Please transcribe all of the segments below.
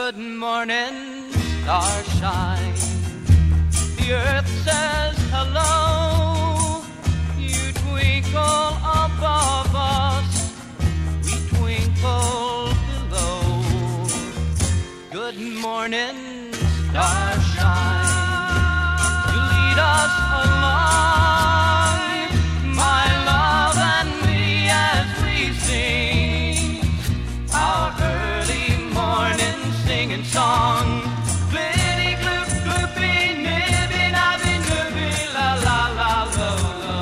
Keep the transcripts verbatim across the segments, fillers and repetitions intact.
Good morning, starshine. The earth says hello. You twinkle above us, we twinkle below. Good morning, starshine. You lead us along, my love and me, as we sing our early morning singing song. Glitty gloop gloopy nibby nabby nibby la la la lo lo.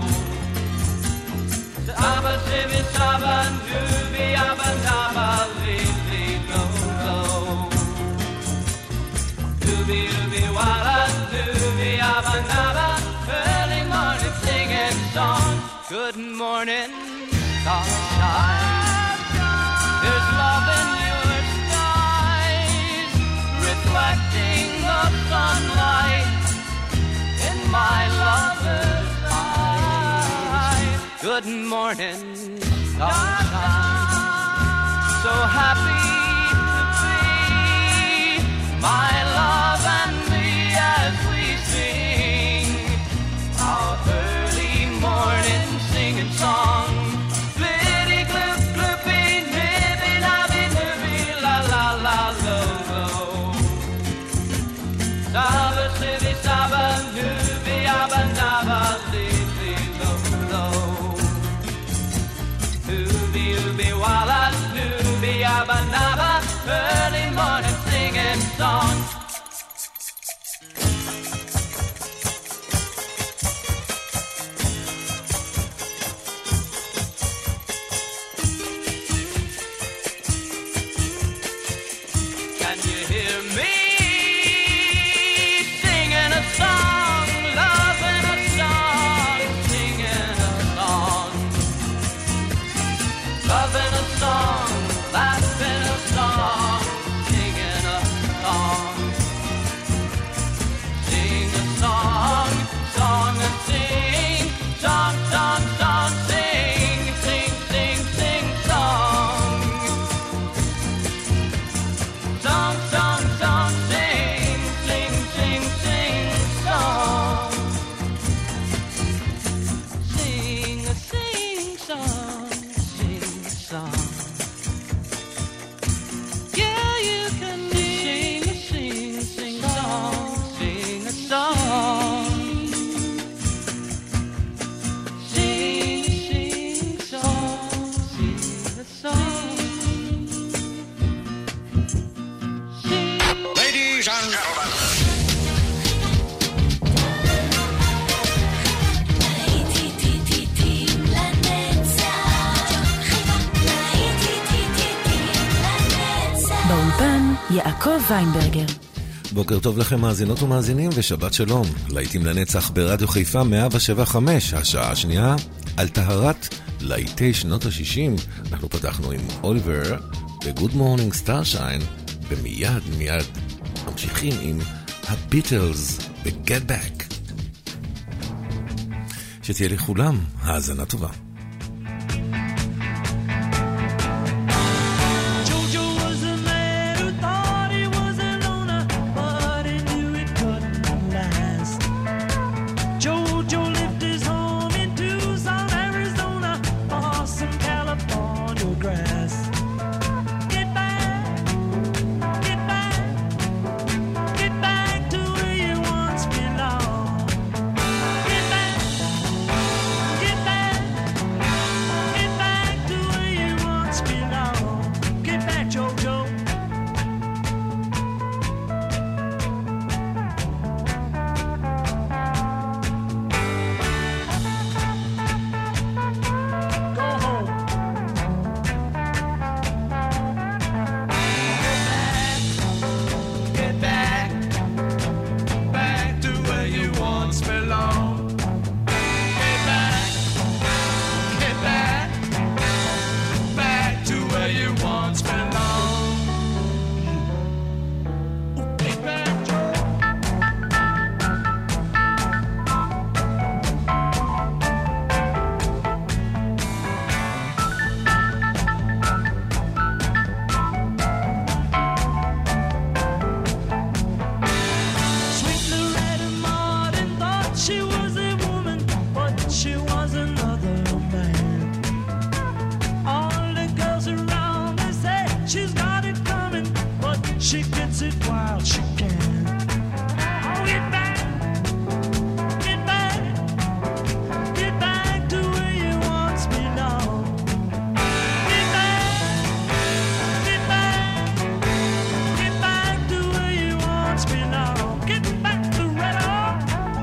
Saba sibby saba nubby abba nabba li li lo lo. Dooby dooby walla dooby abba nabba. Early morning singing song. Good morning, starshine. There's love in your skies, reflecting the sunlight in my lover's eyes. Good morning, starshine. So happy to be my love and me as we sing our early morning singing song. Glitty gloop gloopy nibby nabby nibby la la la lo lo. Saba sibby saba nubby abba nabba li li lo lo. Ooby ooby walla nubby abba nabba. Early morning singing song. Can you hear me singing a song, loving a song, singing a song, loving a song, laughing a song, singing a song, sing a song, song and sing, song, song, song, sing, sing, sing, sing, song. Song, song, song, sing, sing, sing, sing, song. Sing a sing song, sing a song. Yeah, you can sing a sing, sing song, sing a song. Sing, sing song, sing a song. Ladies and gentlemen. באולפן יעקב ויינברגר. בוקר טוב לכם מאזינות ומאזינים ושבת שלום. להיטים לנצח ברדיו חיפה מאה שבע חמש, השעה השנייה על טהרת להיטי שנות ה-שישים. אנחנו פתחנו עם אוליבר ב-Good Morning Starshine, ומיד מיד ממשיכים עם הביטלס ב-Get Back. שתהיה לכולם האזנה טובה. she gets it while she can. Oh, get back, get back, get back to where you once belonged. Get back, get back, get back to where you once belonged. Get back to Red Hawk.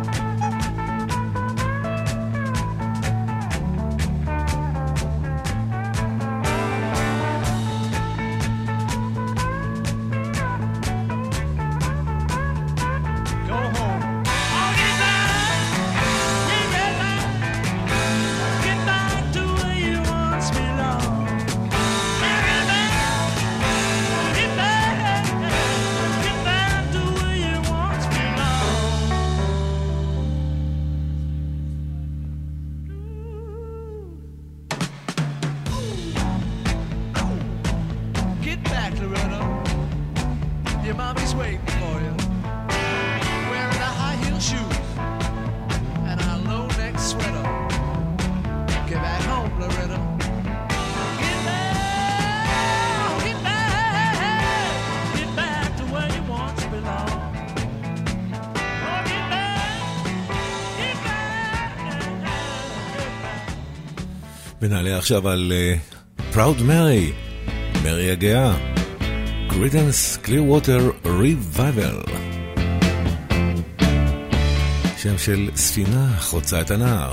ונעלה עכשיו על uh, Proud Mary, מרי הגאה, Creedence Clearwater Revival, שם של ספינה חוצה את הנהר.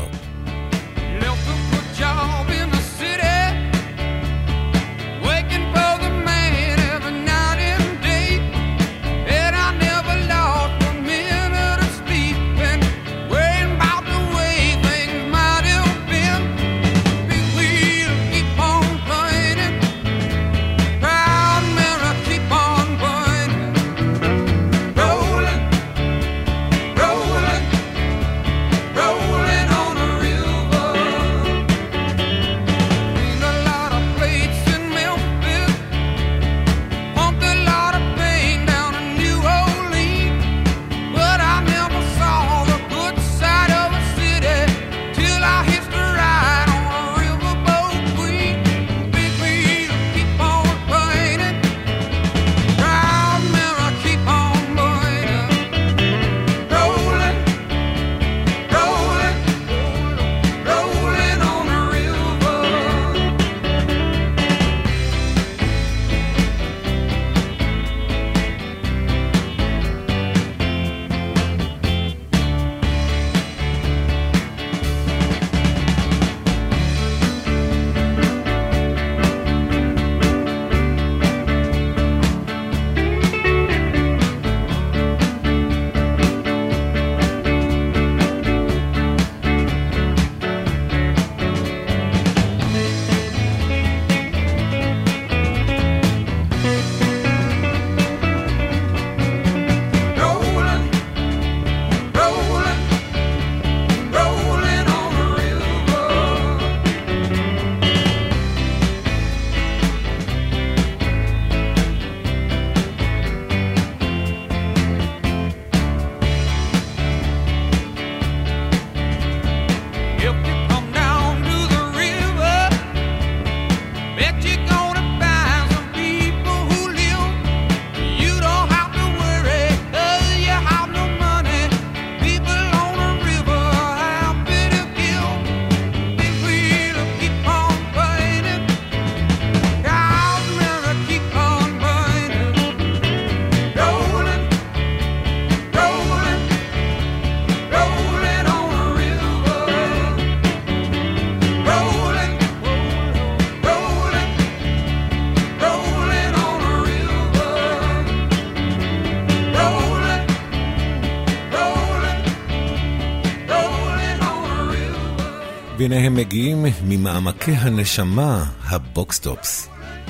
והנה הם מגיעים ממעמקי הנשמה, הבוקסטופס.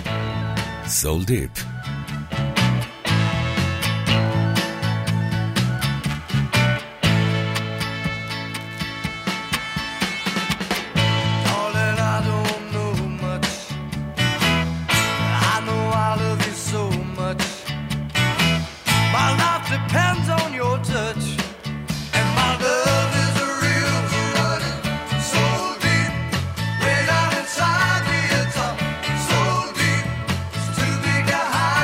Soul Deep. High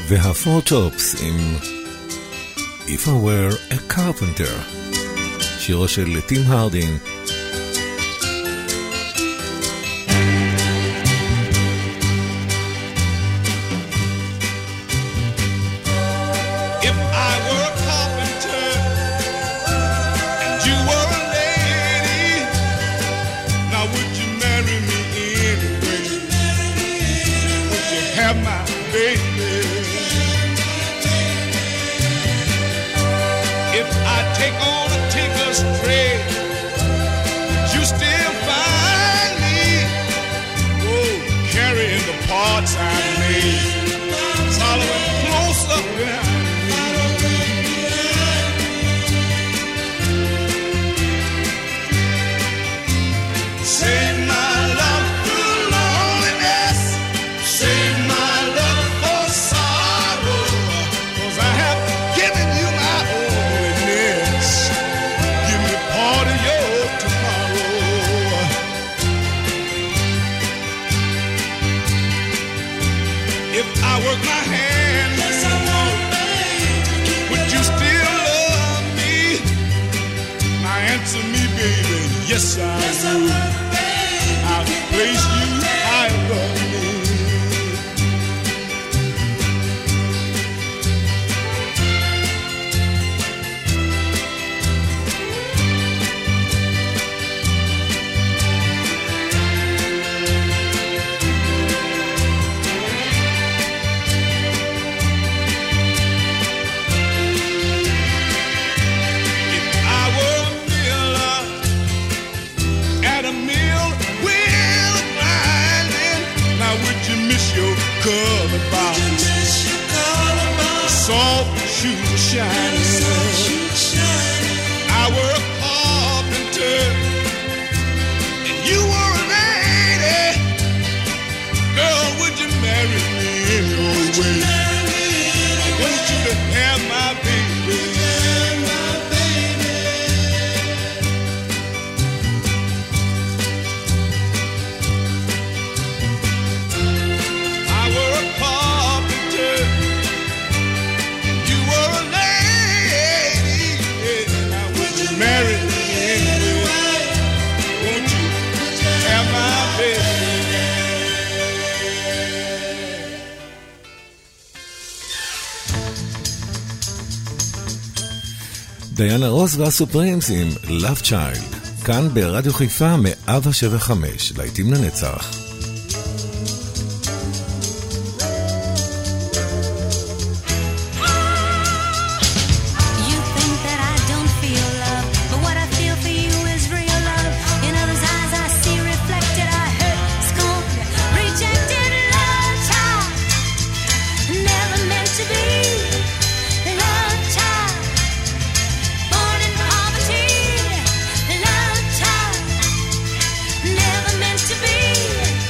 והפור טופס עם If I Were a Carpenter, שירו של טים הרדין. Yes, I yes, will. I'll place you high above me. I were a carpenter and you were a lady. Girl, would you marry me in your way? I want you to have my baby. I were a carpenter. Marry me anyway. Won't you have my baby? דיינה רוס והסופרימס עם Love Child, כאן ברדיו חיפה מאה שבע וחמש, להיטים לנצח. Never meant to be.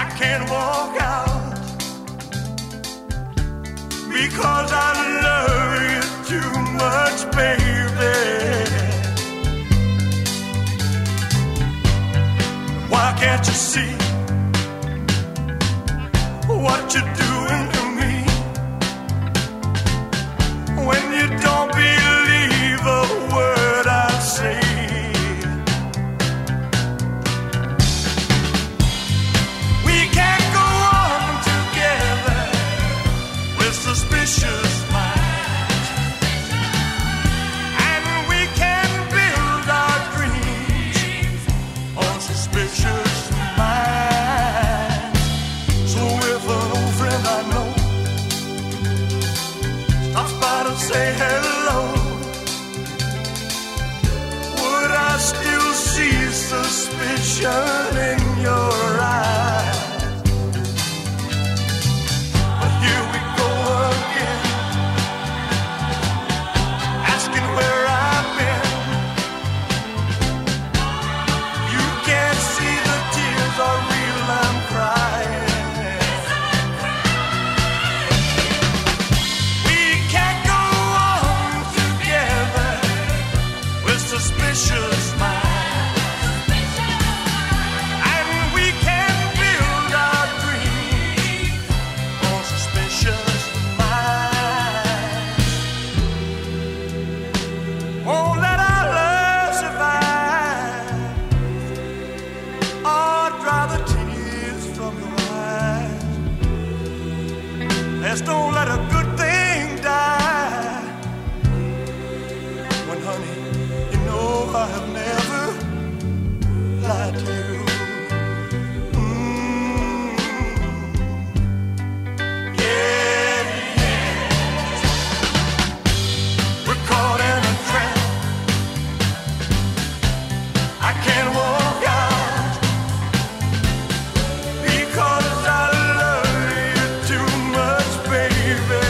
I can't walk out because I love you too much, baby. Why can't you see what you're doing to me when you don't believe a word I say? We can't go on together with suspicious minds, and we can build our dreams on suspicious minds. So if an old friend I know stops by to say hello, would I still see suspicion in your eyes? But here we go again, asking where I've been. You can't see the tears are real, I'm crying. We can't go on together with suspicious minds, and we can build our dreams on suspicious minds. Won't let our love survive or dry the tears from your eyes. Let's don't let a good thing die. When, honey, you know I have never lied to you. Mm. Yeah, yeah. We're caught in a trap. I can't walk out because I love you too much, baby.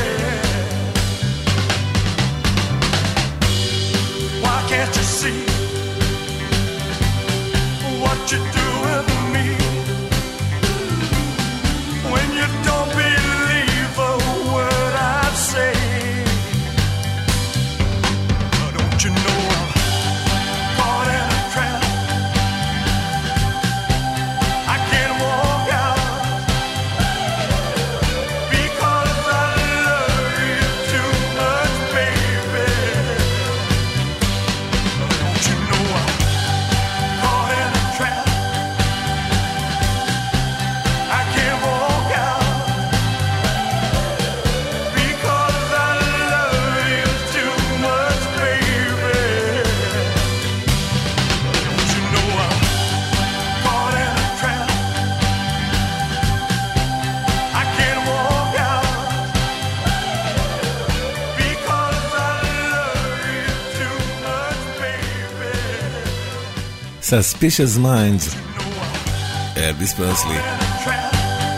Why can't you see what you're doing to me when you don't believe a word I say? Don't you know I'm caught in a trap? I can't walk out because I love you too much, baby. Don't you know I'm caught in a trap? I can't walk out because I love you too much, baby. Don't you know I'm caught in a trap? I can't walk out because I love you too much, baby. Suspicious Minds, אלביס פרסלי. Trap.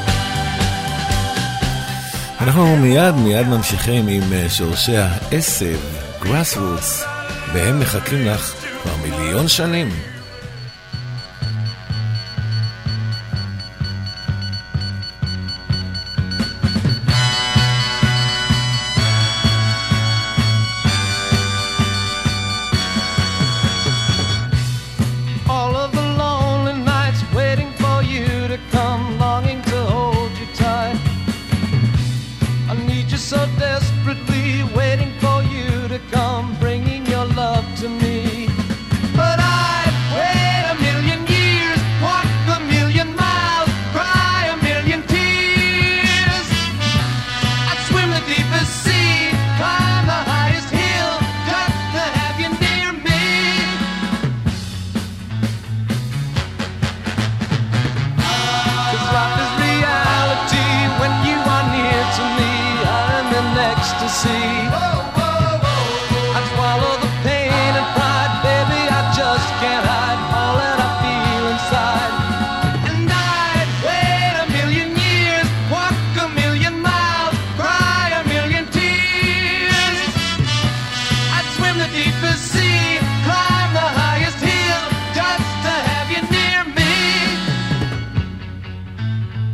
אנחנו מיד מיד ממשיכים עם אה, שורשי העשב, Grassroots, והם מחכים לך כבר מיליון שנים. All of the lonely nights waiting for you to come, longing to hold you tight. I need you so desperately, waiting for you to come, bringing your love to me. But I'd wait a million years, walk a million miles, cry a million tears. I'd swim the deepest sea, climb the highest hill, just to have you near me. Cause life is reality when you are near to me. I'm in ecstasy. I'd swallow the pain and pride, baby, I just can't hide all that I feel inside. And I'd wait a million years, walk a million miles, cry a million tears. I'd swim the deepest sea, climb the highest hill, just to have you near me.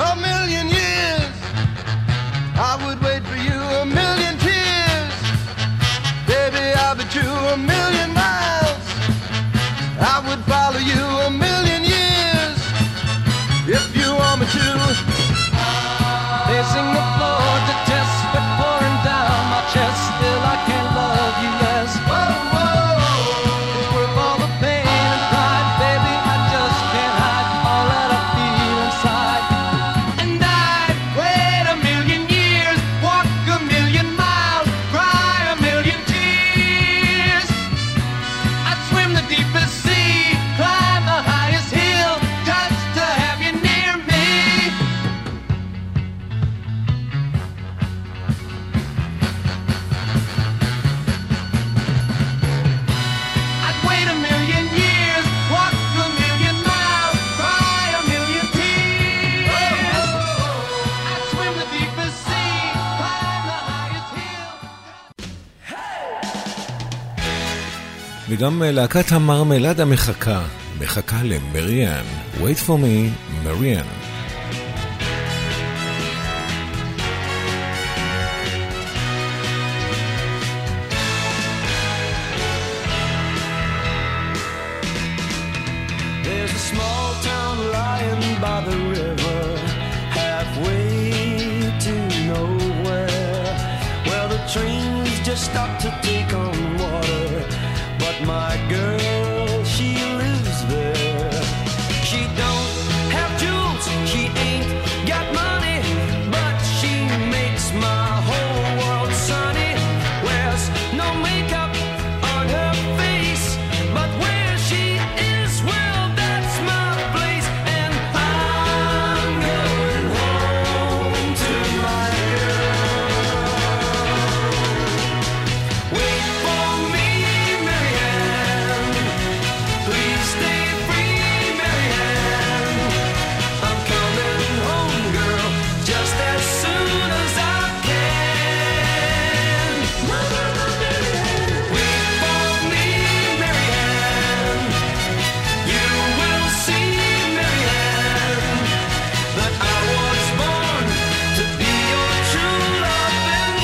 a million years. I would wait for you a million tears. Baby, I'll bet you a million miles. I would follow you a million years if you want me to. Pacing the floor to test sweat pouring down my chest. Still I can't love you less. Whoa, whoa. It's worth all the pain and pride. Baby, I just can't hide all that I feel inside. And I'd wait a million years, walk a million miles, cry a million tears. I'd swim the deepest sea, climb the highest hill, just to have you near me. I'd wait a million years, walk a million miles, cry a million tears. I'd swim the deepest sea, climb the highest hill. וגם להקת המרמלדה מחכה, מחכה למריאן. Wait for me, מריאן. There's a small town lying by the river, halfway to nowhere, where the trains just stop to take on water. But my girl, she lives there. She don't have jewels, she ain't got money, but she makes my whole world sunny. Wears no makeup on her face, but where she is, well, that's my place. And I'm going home to my girl. Wait for me, Marianne. Please stay free, Marianne. I'm coming home, girl, just as soon as I can. Wait for me, Marianne. You will see, Marianne, that I was born to be your true loving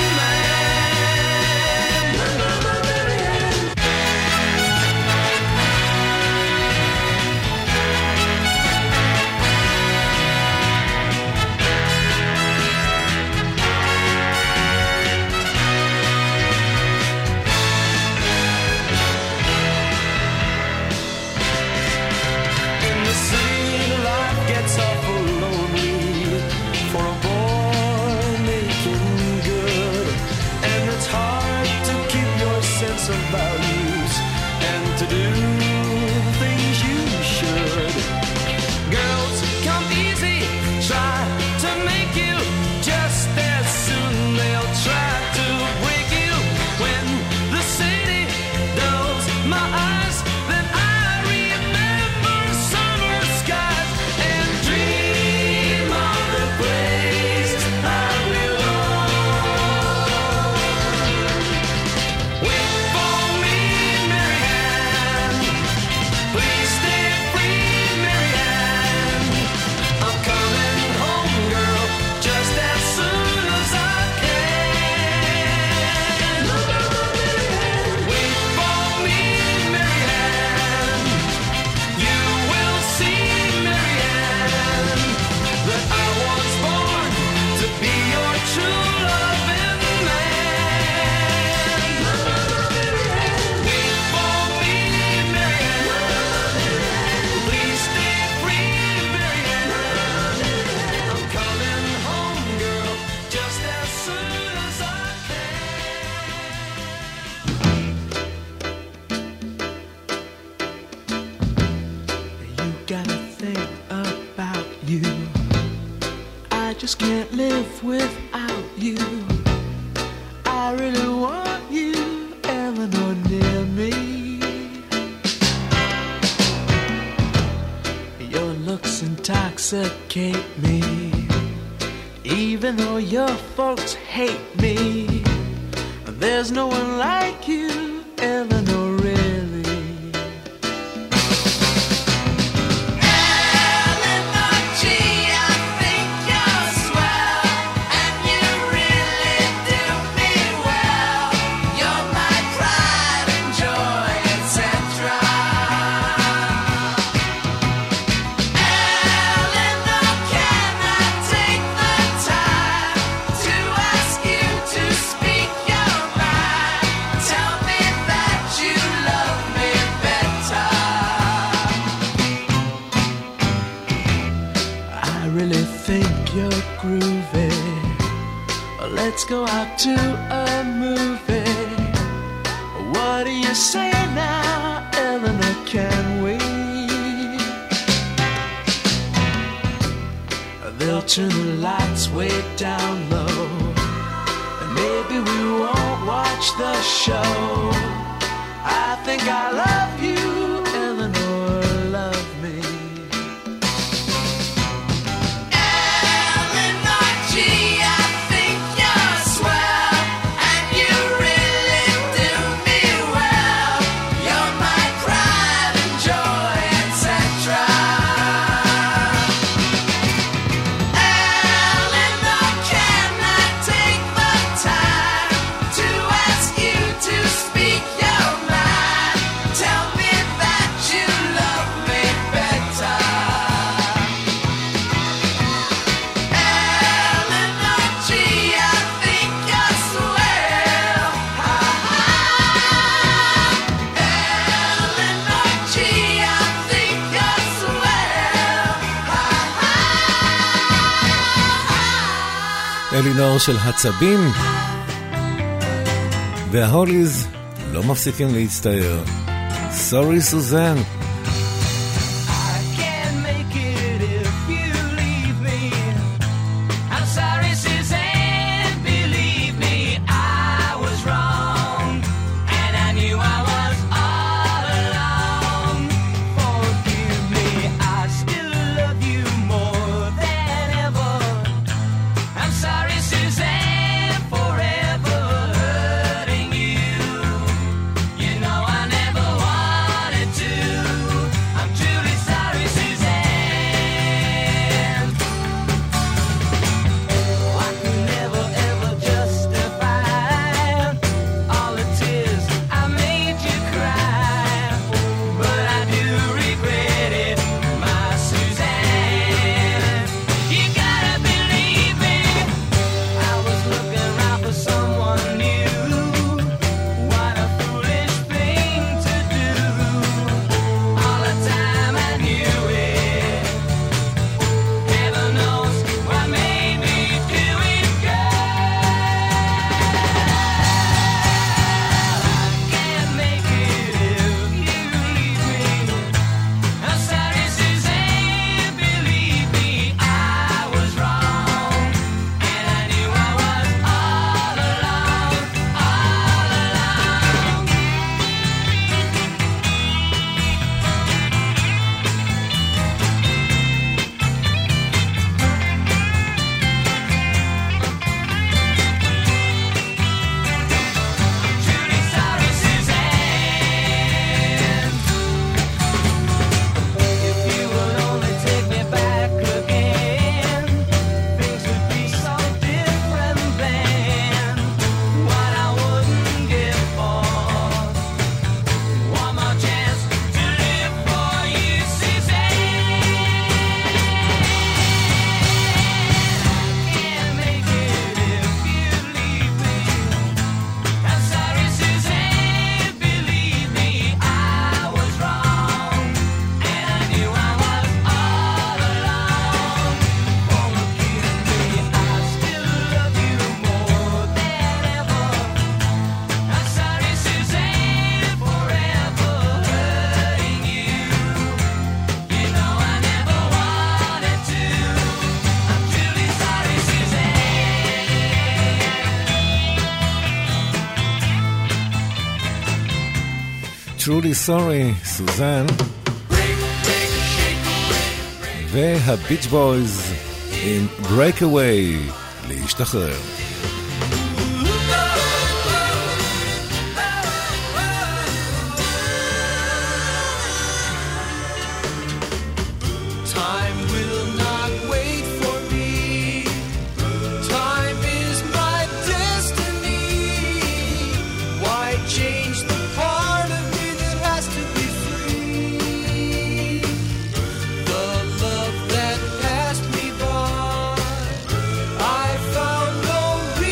man. In the city, life gets awful lonely for a boy making good, and it's hard to keep your sense of values and to do things you should. Girls come easy, try to make you, just as soon they'll try to break you. When the city dulls my eyes, then I remember summer skies and dream of the place I belong. Wait for me, Marianne. Please stay free, Marianne. I'm coming home, girl, just as soon as I can. Wait for me, Marianne. You will see, Marianne, that I was born to be your true loving man. Wait for me, Marianne. Please stay free, Marianne. I'm coming home, girl, just as soon as I You gotta think about you. I just can't live without you. I really want you, Eleanor, near me. Your looks intoxicate me, even though your folks hate me. There's no one like you, Eleanor, really. Eleanor G, I think really think you're groovy. Let's go out to a movie. What do you say now, Eleanor, can we? They'll turn the lights way down low, and maybe we won't watch the show. I think I love you, Eleanor, love me. Eleanor G, I think you're swell, and you really do me well. You're my pride and joy, et cetera. Eleanor, can I take the time to ask you to speak your mind? Tell me that you love me better. Eleanor G, I think you're swell. Ha ha. Eleanor G, I think you're swell. Ha ha. אלינור של הצבים וההוליז לא מפסיקים להצטער. Sorry Suzanne. I can't make it if you leave me. I'm sorry, Suzanne. Believe me, I was wrong, and I knew I was all along. Forgive me, I still love you more than ever. I'm sorry, Suzanne, forever hurting you. You know I never wanted to. I'm truly sorry, Suzanne. I can never ever justify all the tears I made you cry, but I do regret it, my Suzanne. You gotta believe me, I was looking around for someone new. What a foolish thing to do. All the time I knew it. Heaven knows what made me do it, girl. I can't make it if you leave me. I'm sorry, Suzanne. Believe me, I was wrong, and I knew I was all alone, all alone. Truly sorry, Suzanne. If you would only take me back again, things would be so different then. What I wouldn't give for one more chance to live for you, Suzanne. Can't make it if you leave me. I'm sorry, Suzanne. Believe me, I was wrong, and I knew I was all alone. Forgive me, I still love you more than ever. I'm sorry, Suzanne, forever hurting you. You know I never wanted to. I'm truly sorry, Suzanne. Truly sorry Suzanne. והביץ' בויז עם Breakaway, להשתחרר. Time will not wait for me. Time is my destiny. Why change the part of me that has to be free? The love that passed me by, I found no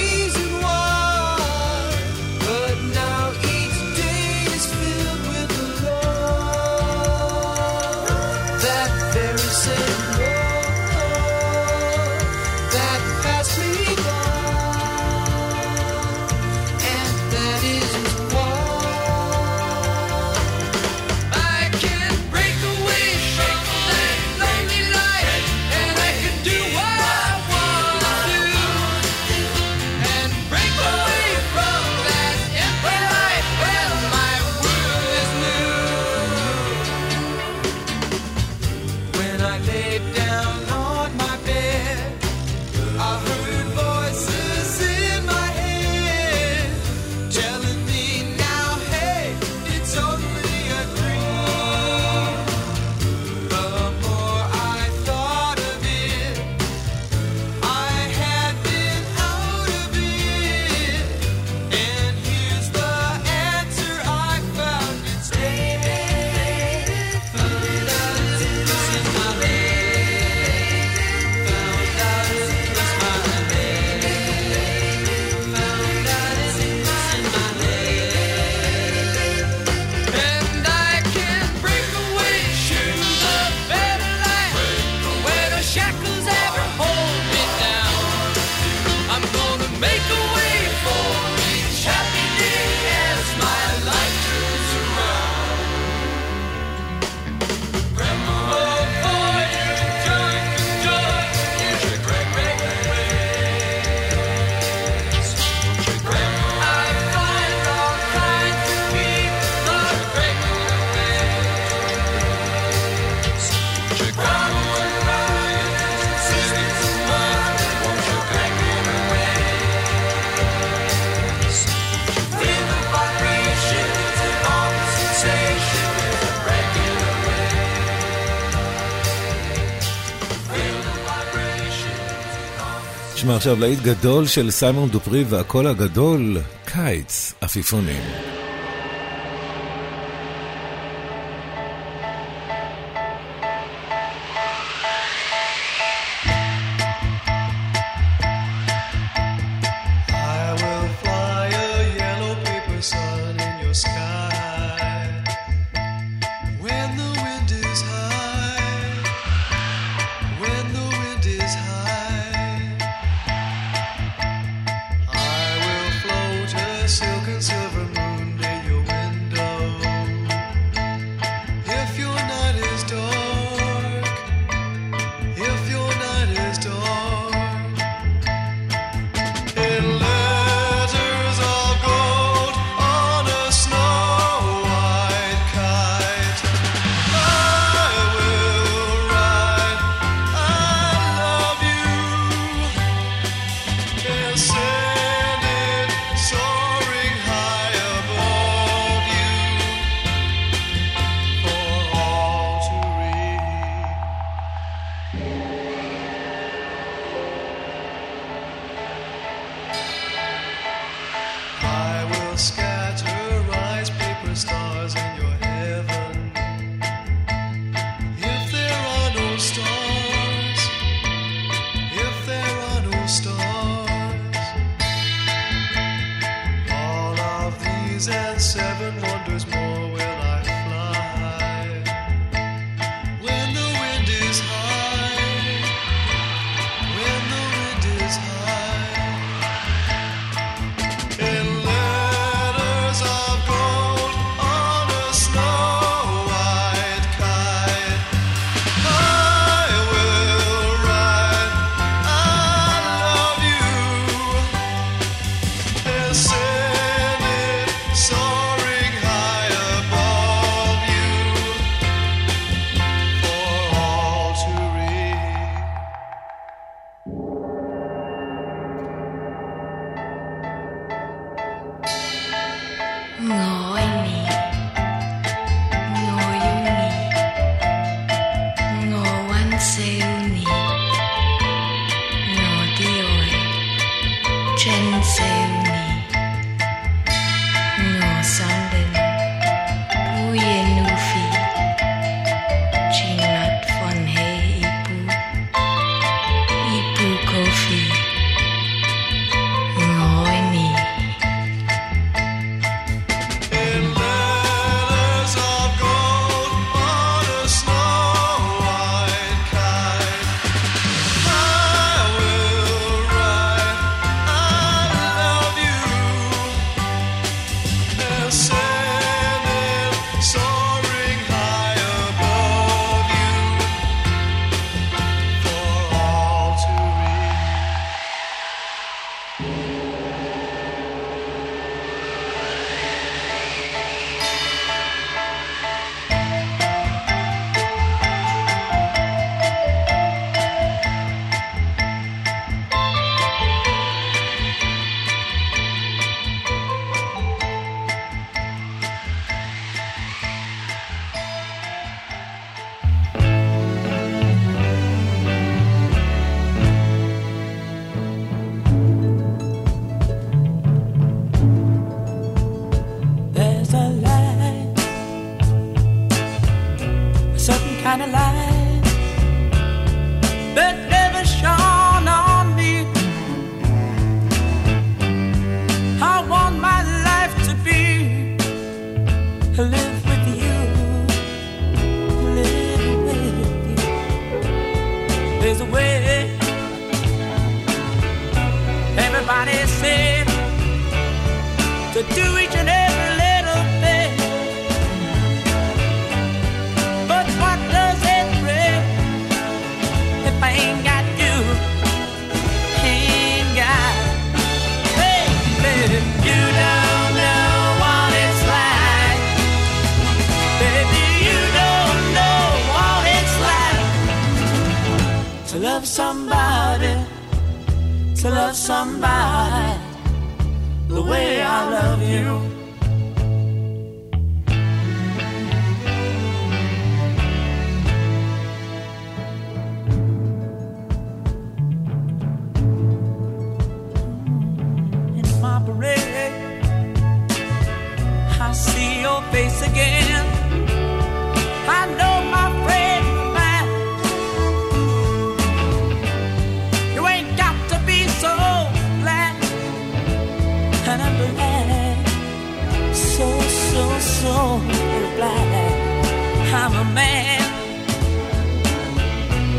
נשמע עכשיו להיט גדול של סיימון דופרי והקול הגדול, קיץ, עפיפונים.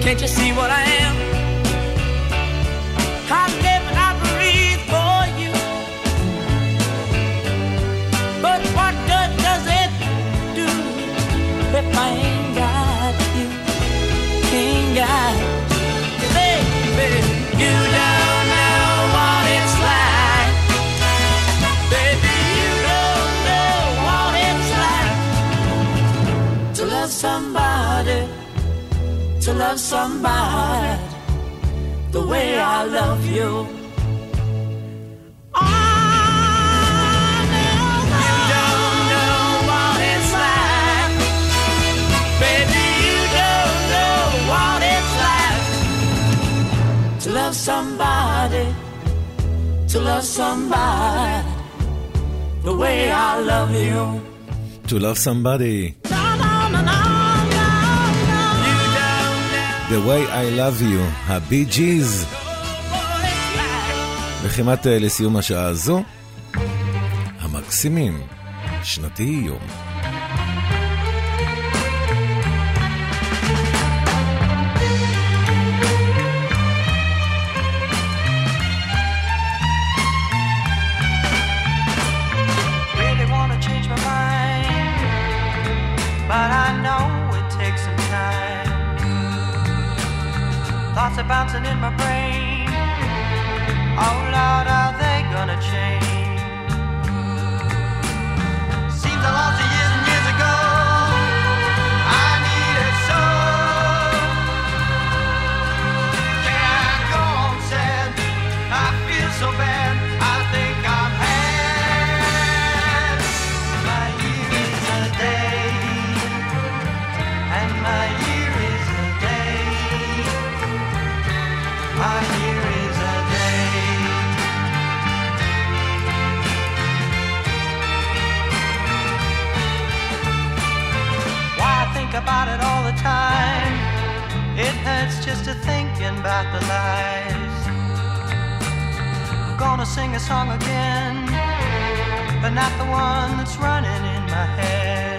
Can't you see what I am? I live and I breathe for you. But what good does it do if I ain't got you? Ain't got you, baby. You don't know what it's like. Baby, you don't know what it's like to love somebody, to love somebody the way I love you. Oh, no, you don't know what it's like. Baby, you don't know what it's like to love somebody, to love somebody the way I love you. To love somebody. The way I love you, הבי ג'יז. וכמעט לסיום השעה הזו, המקסימים, שנתי יום. Really wanna change my mind, but I know it takes some time. Thoughts are bouncing in my brain. Oh Lord, are they gonna change? Seems I lost it years and years ago. I need it so. Can't go on sad. I feel so bad. I think I'm had. My year is a day, and my year is a day. My year is a day. Why I think about it all the time. It hurts just to thinking about the lies. I'm gonna sing a song again, but not the one that's running in my head.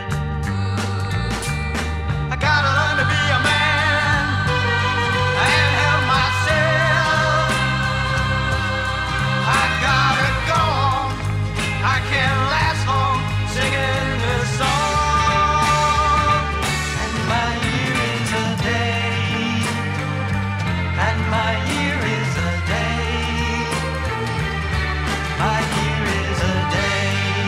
I gotta learn to be a man and help myself. I gotta go on. I can't last long singing this song. And my year is a day. And my year is a day. My year is a day.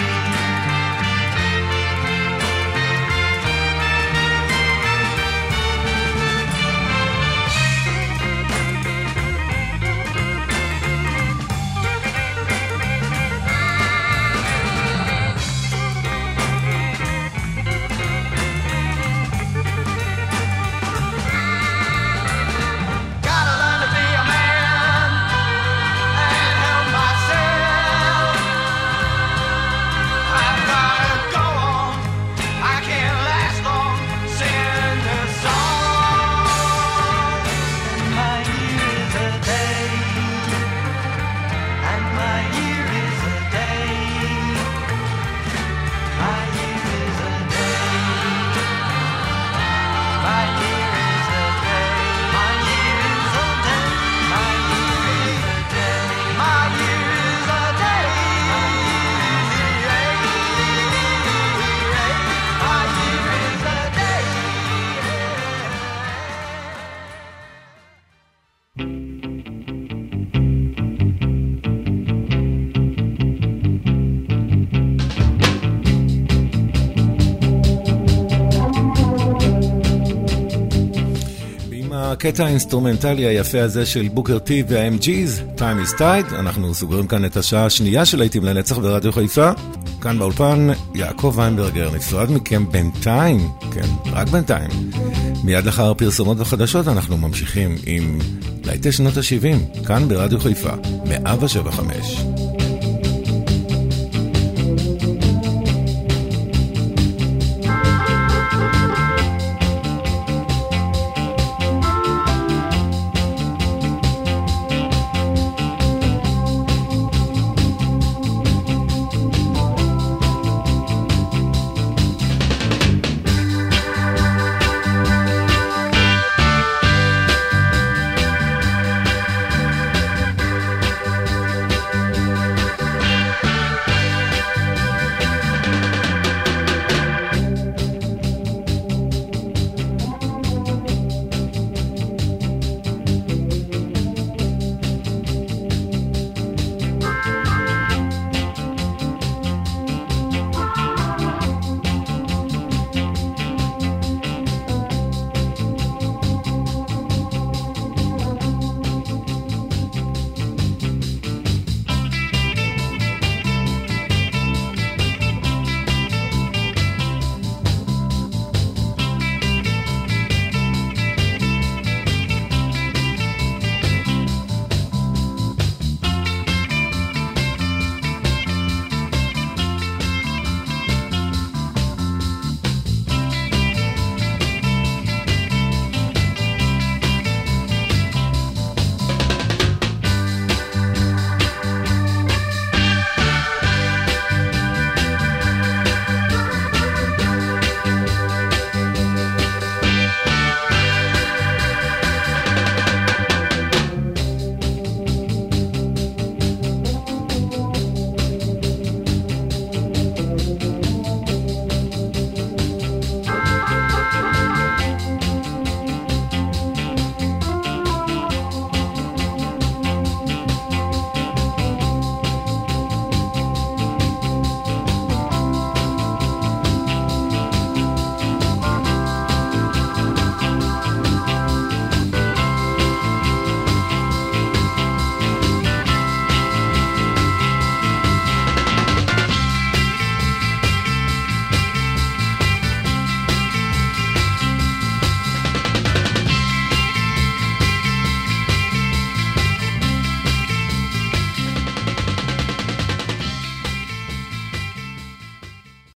Gotta learn to be a man and help myself. I gotta go on. I can't last long singing this song. And my year is a day. And my year is a day. My year is a day. My year is a day. My year is a day. My year is a day. My year is a day. My year is a day. עם הקטע האינסטרומנטלי היפה הזה של בוקר טי וה-אם ג'יז, Time is Tide, אנחנו סוגרים כאן את השעה השנייה של להיטים לנצח ברדיו חיפה. כאן באולפן יעקב ויינברגר, נפרד מכם בינתיים, כן, רק בינתיים. מיד לאחר פרסומות וחדשות אנחנו ממשיכים עם להיטי שנות ה-שבעים, כאן ברדיו חיפה, מאה שבע וחמש.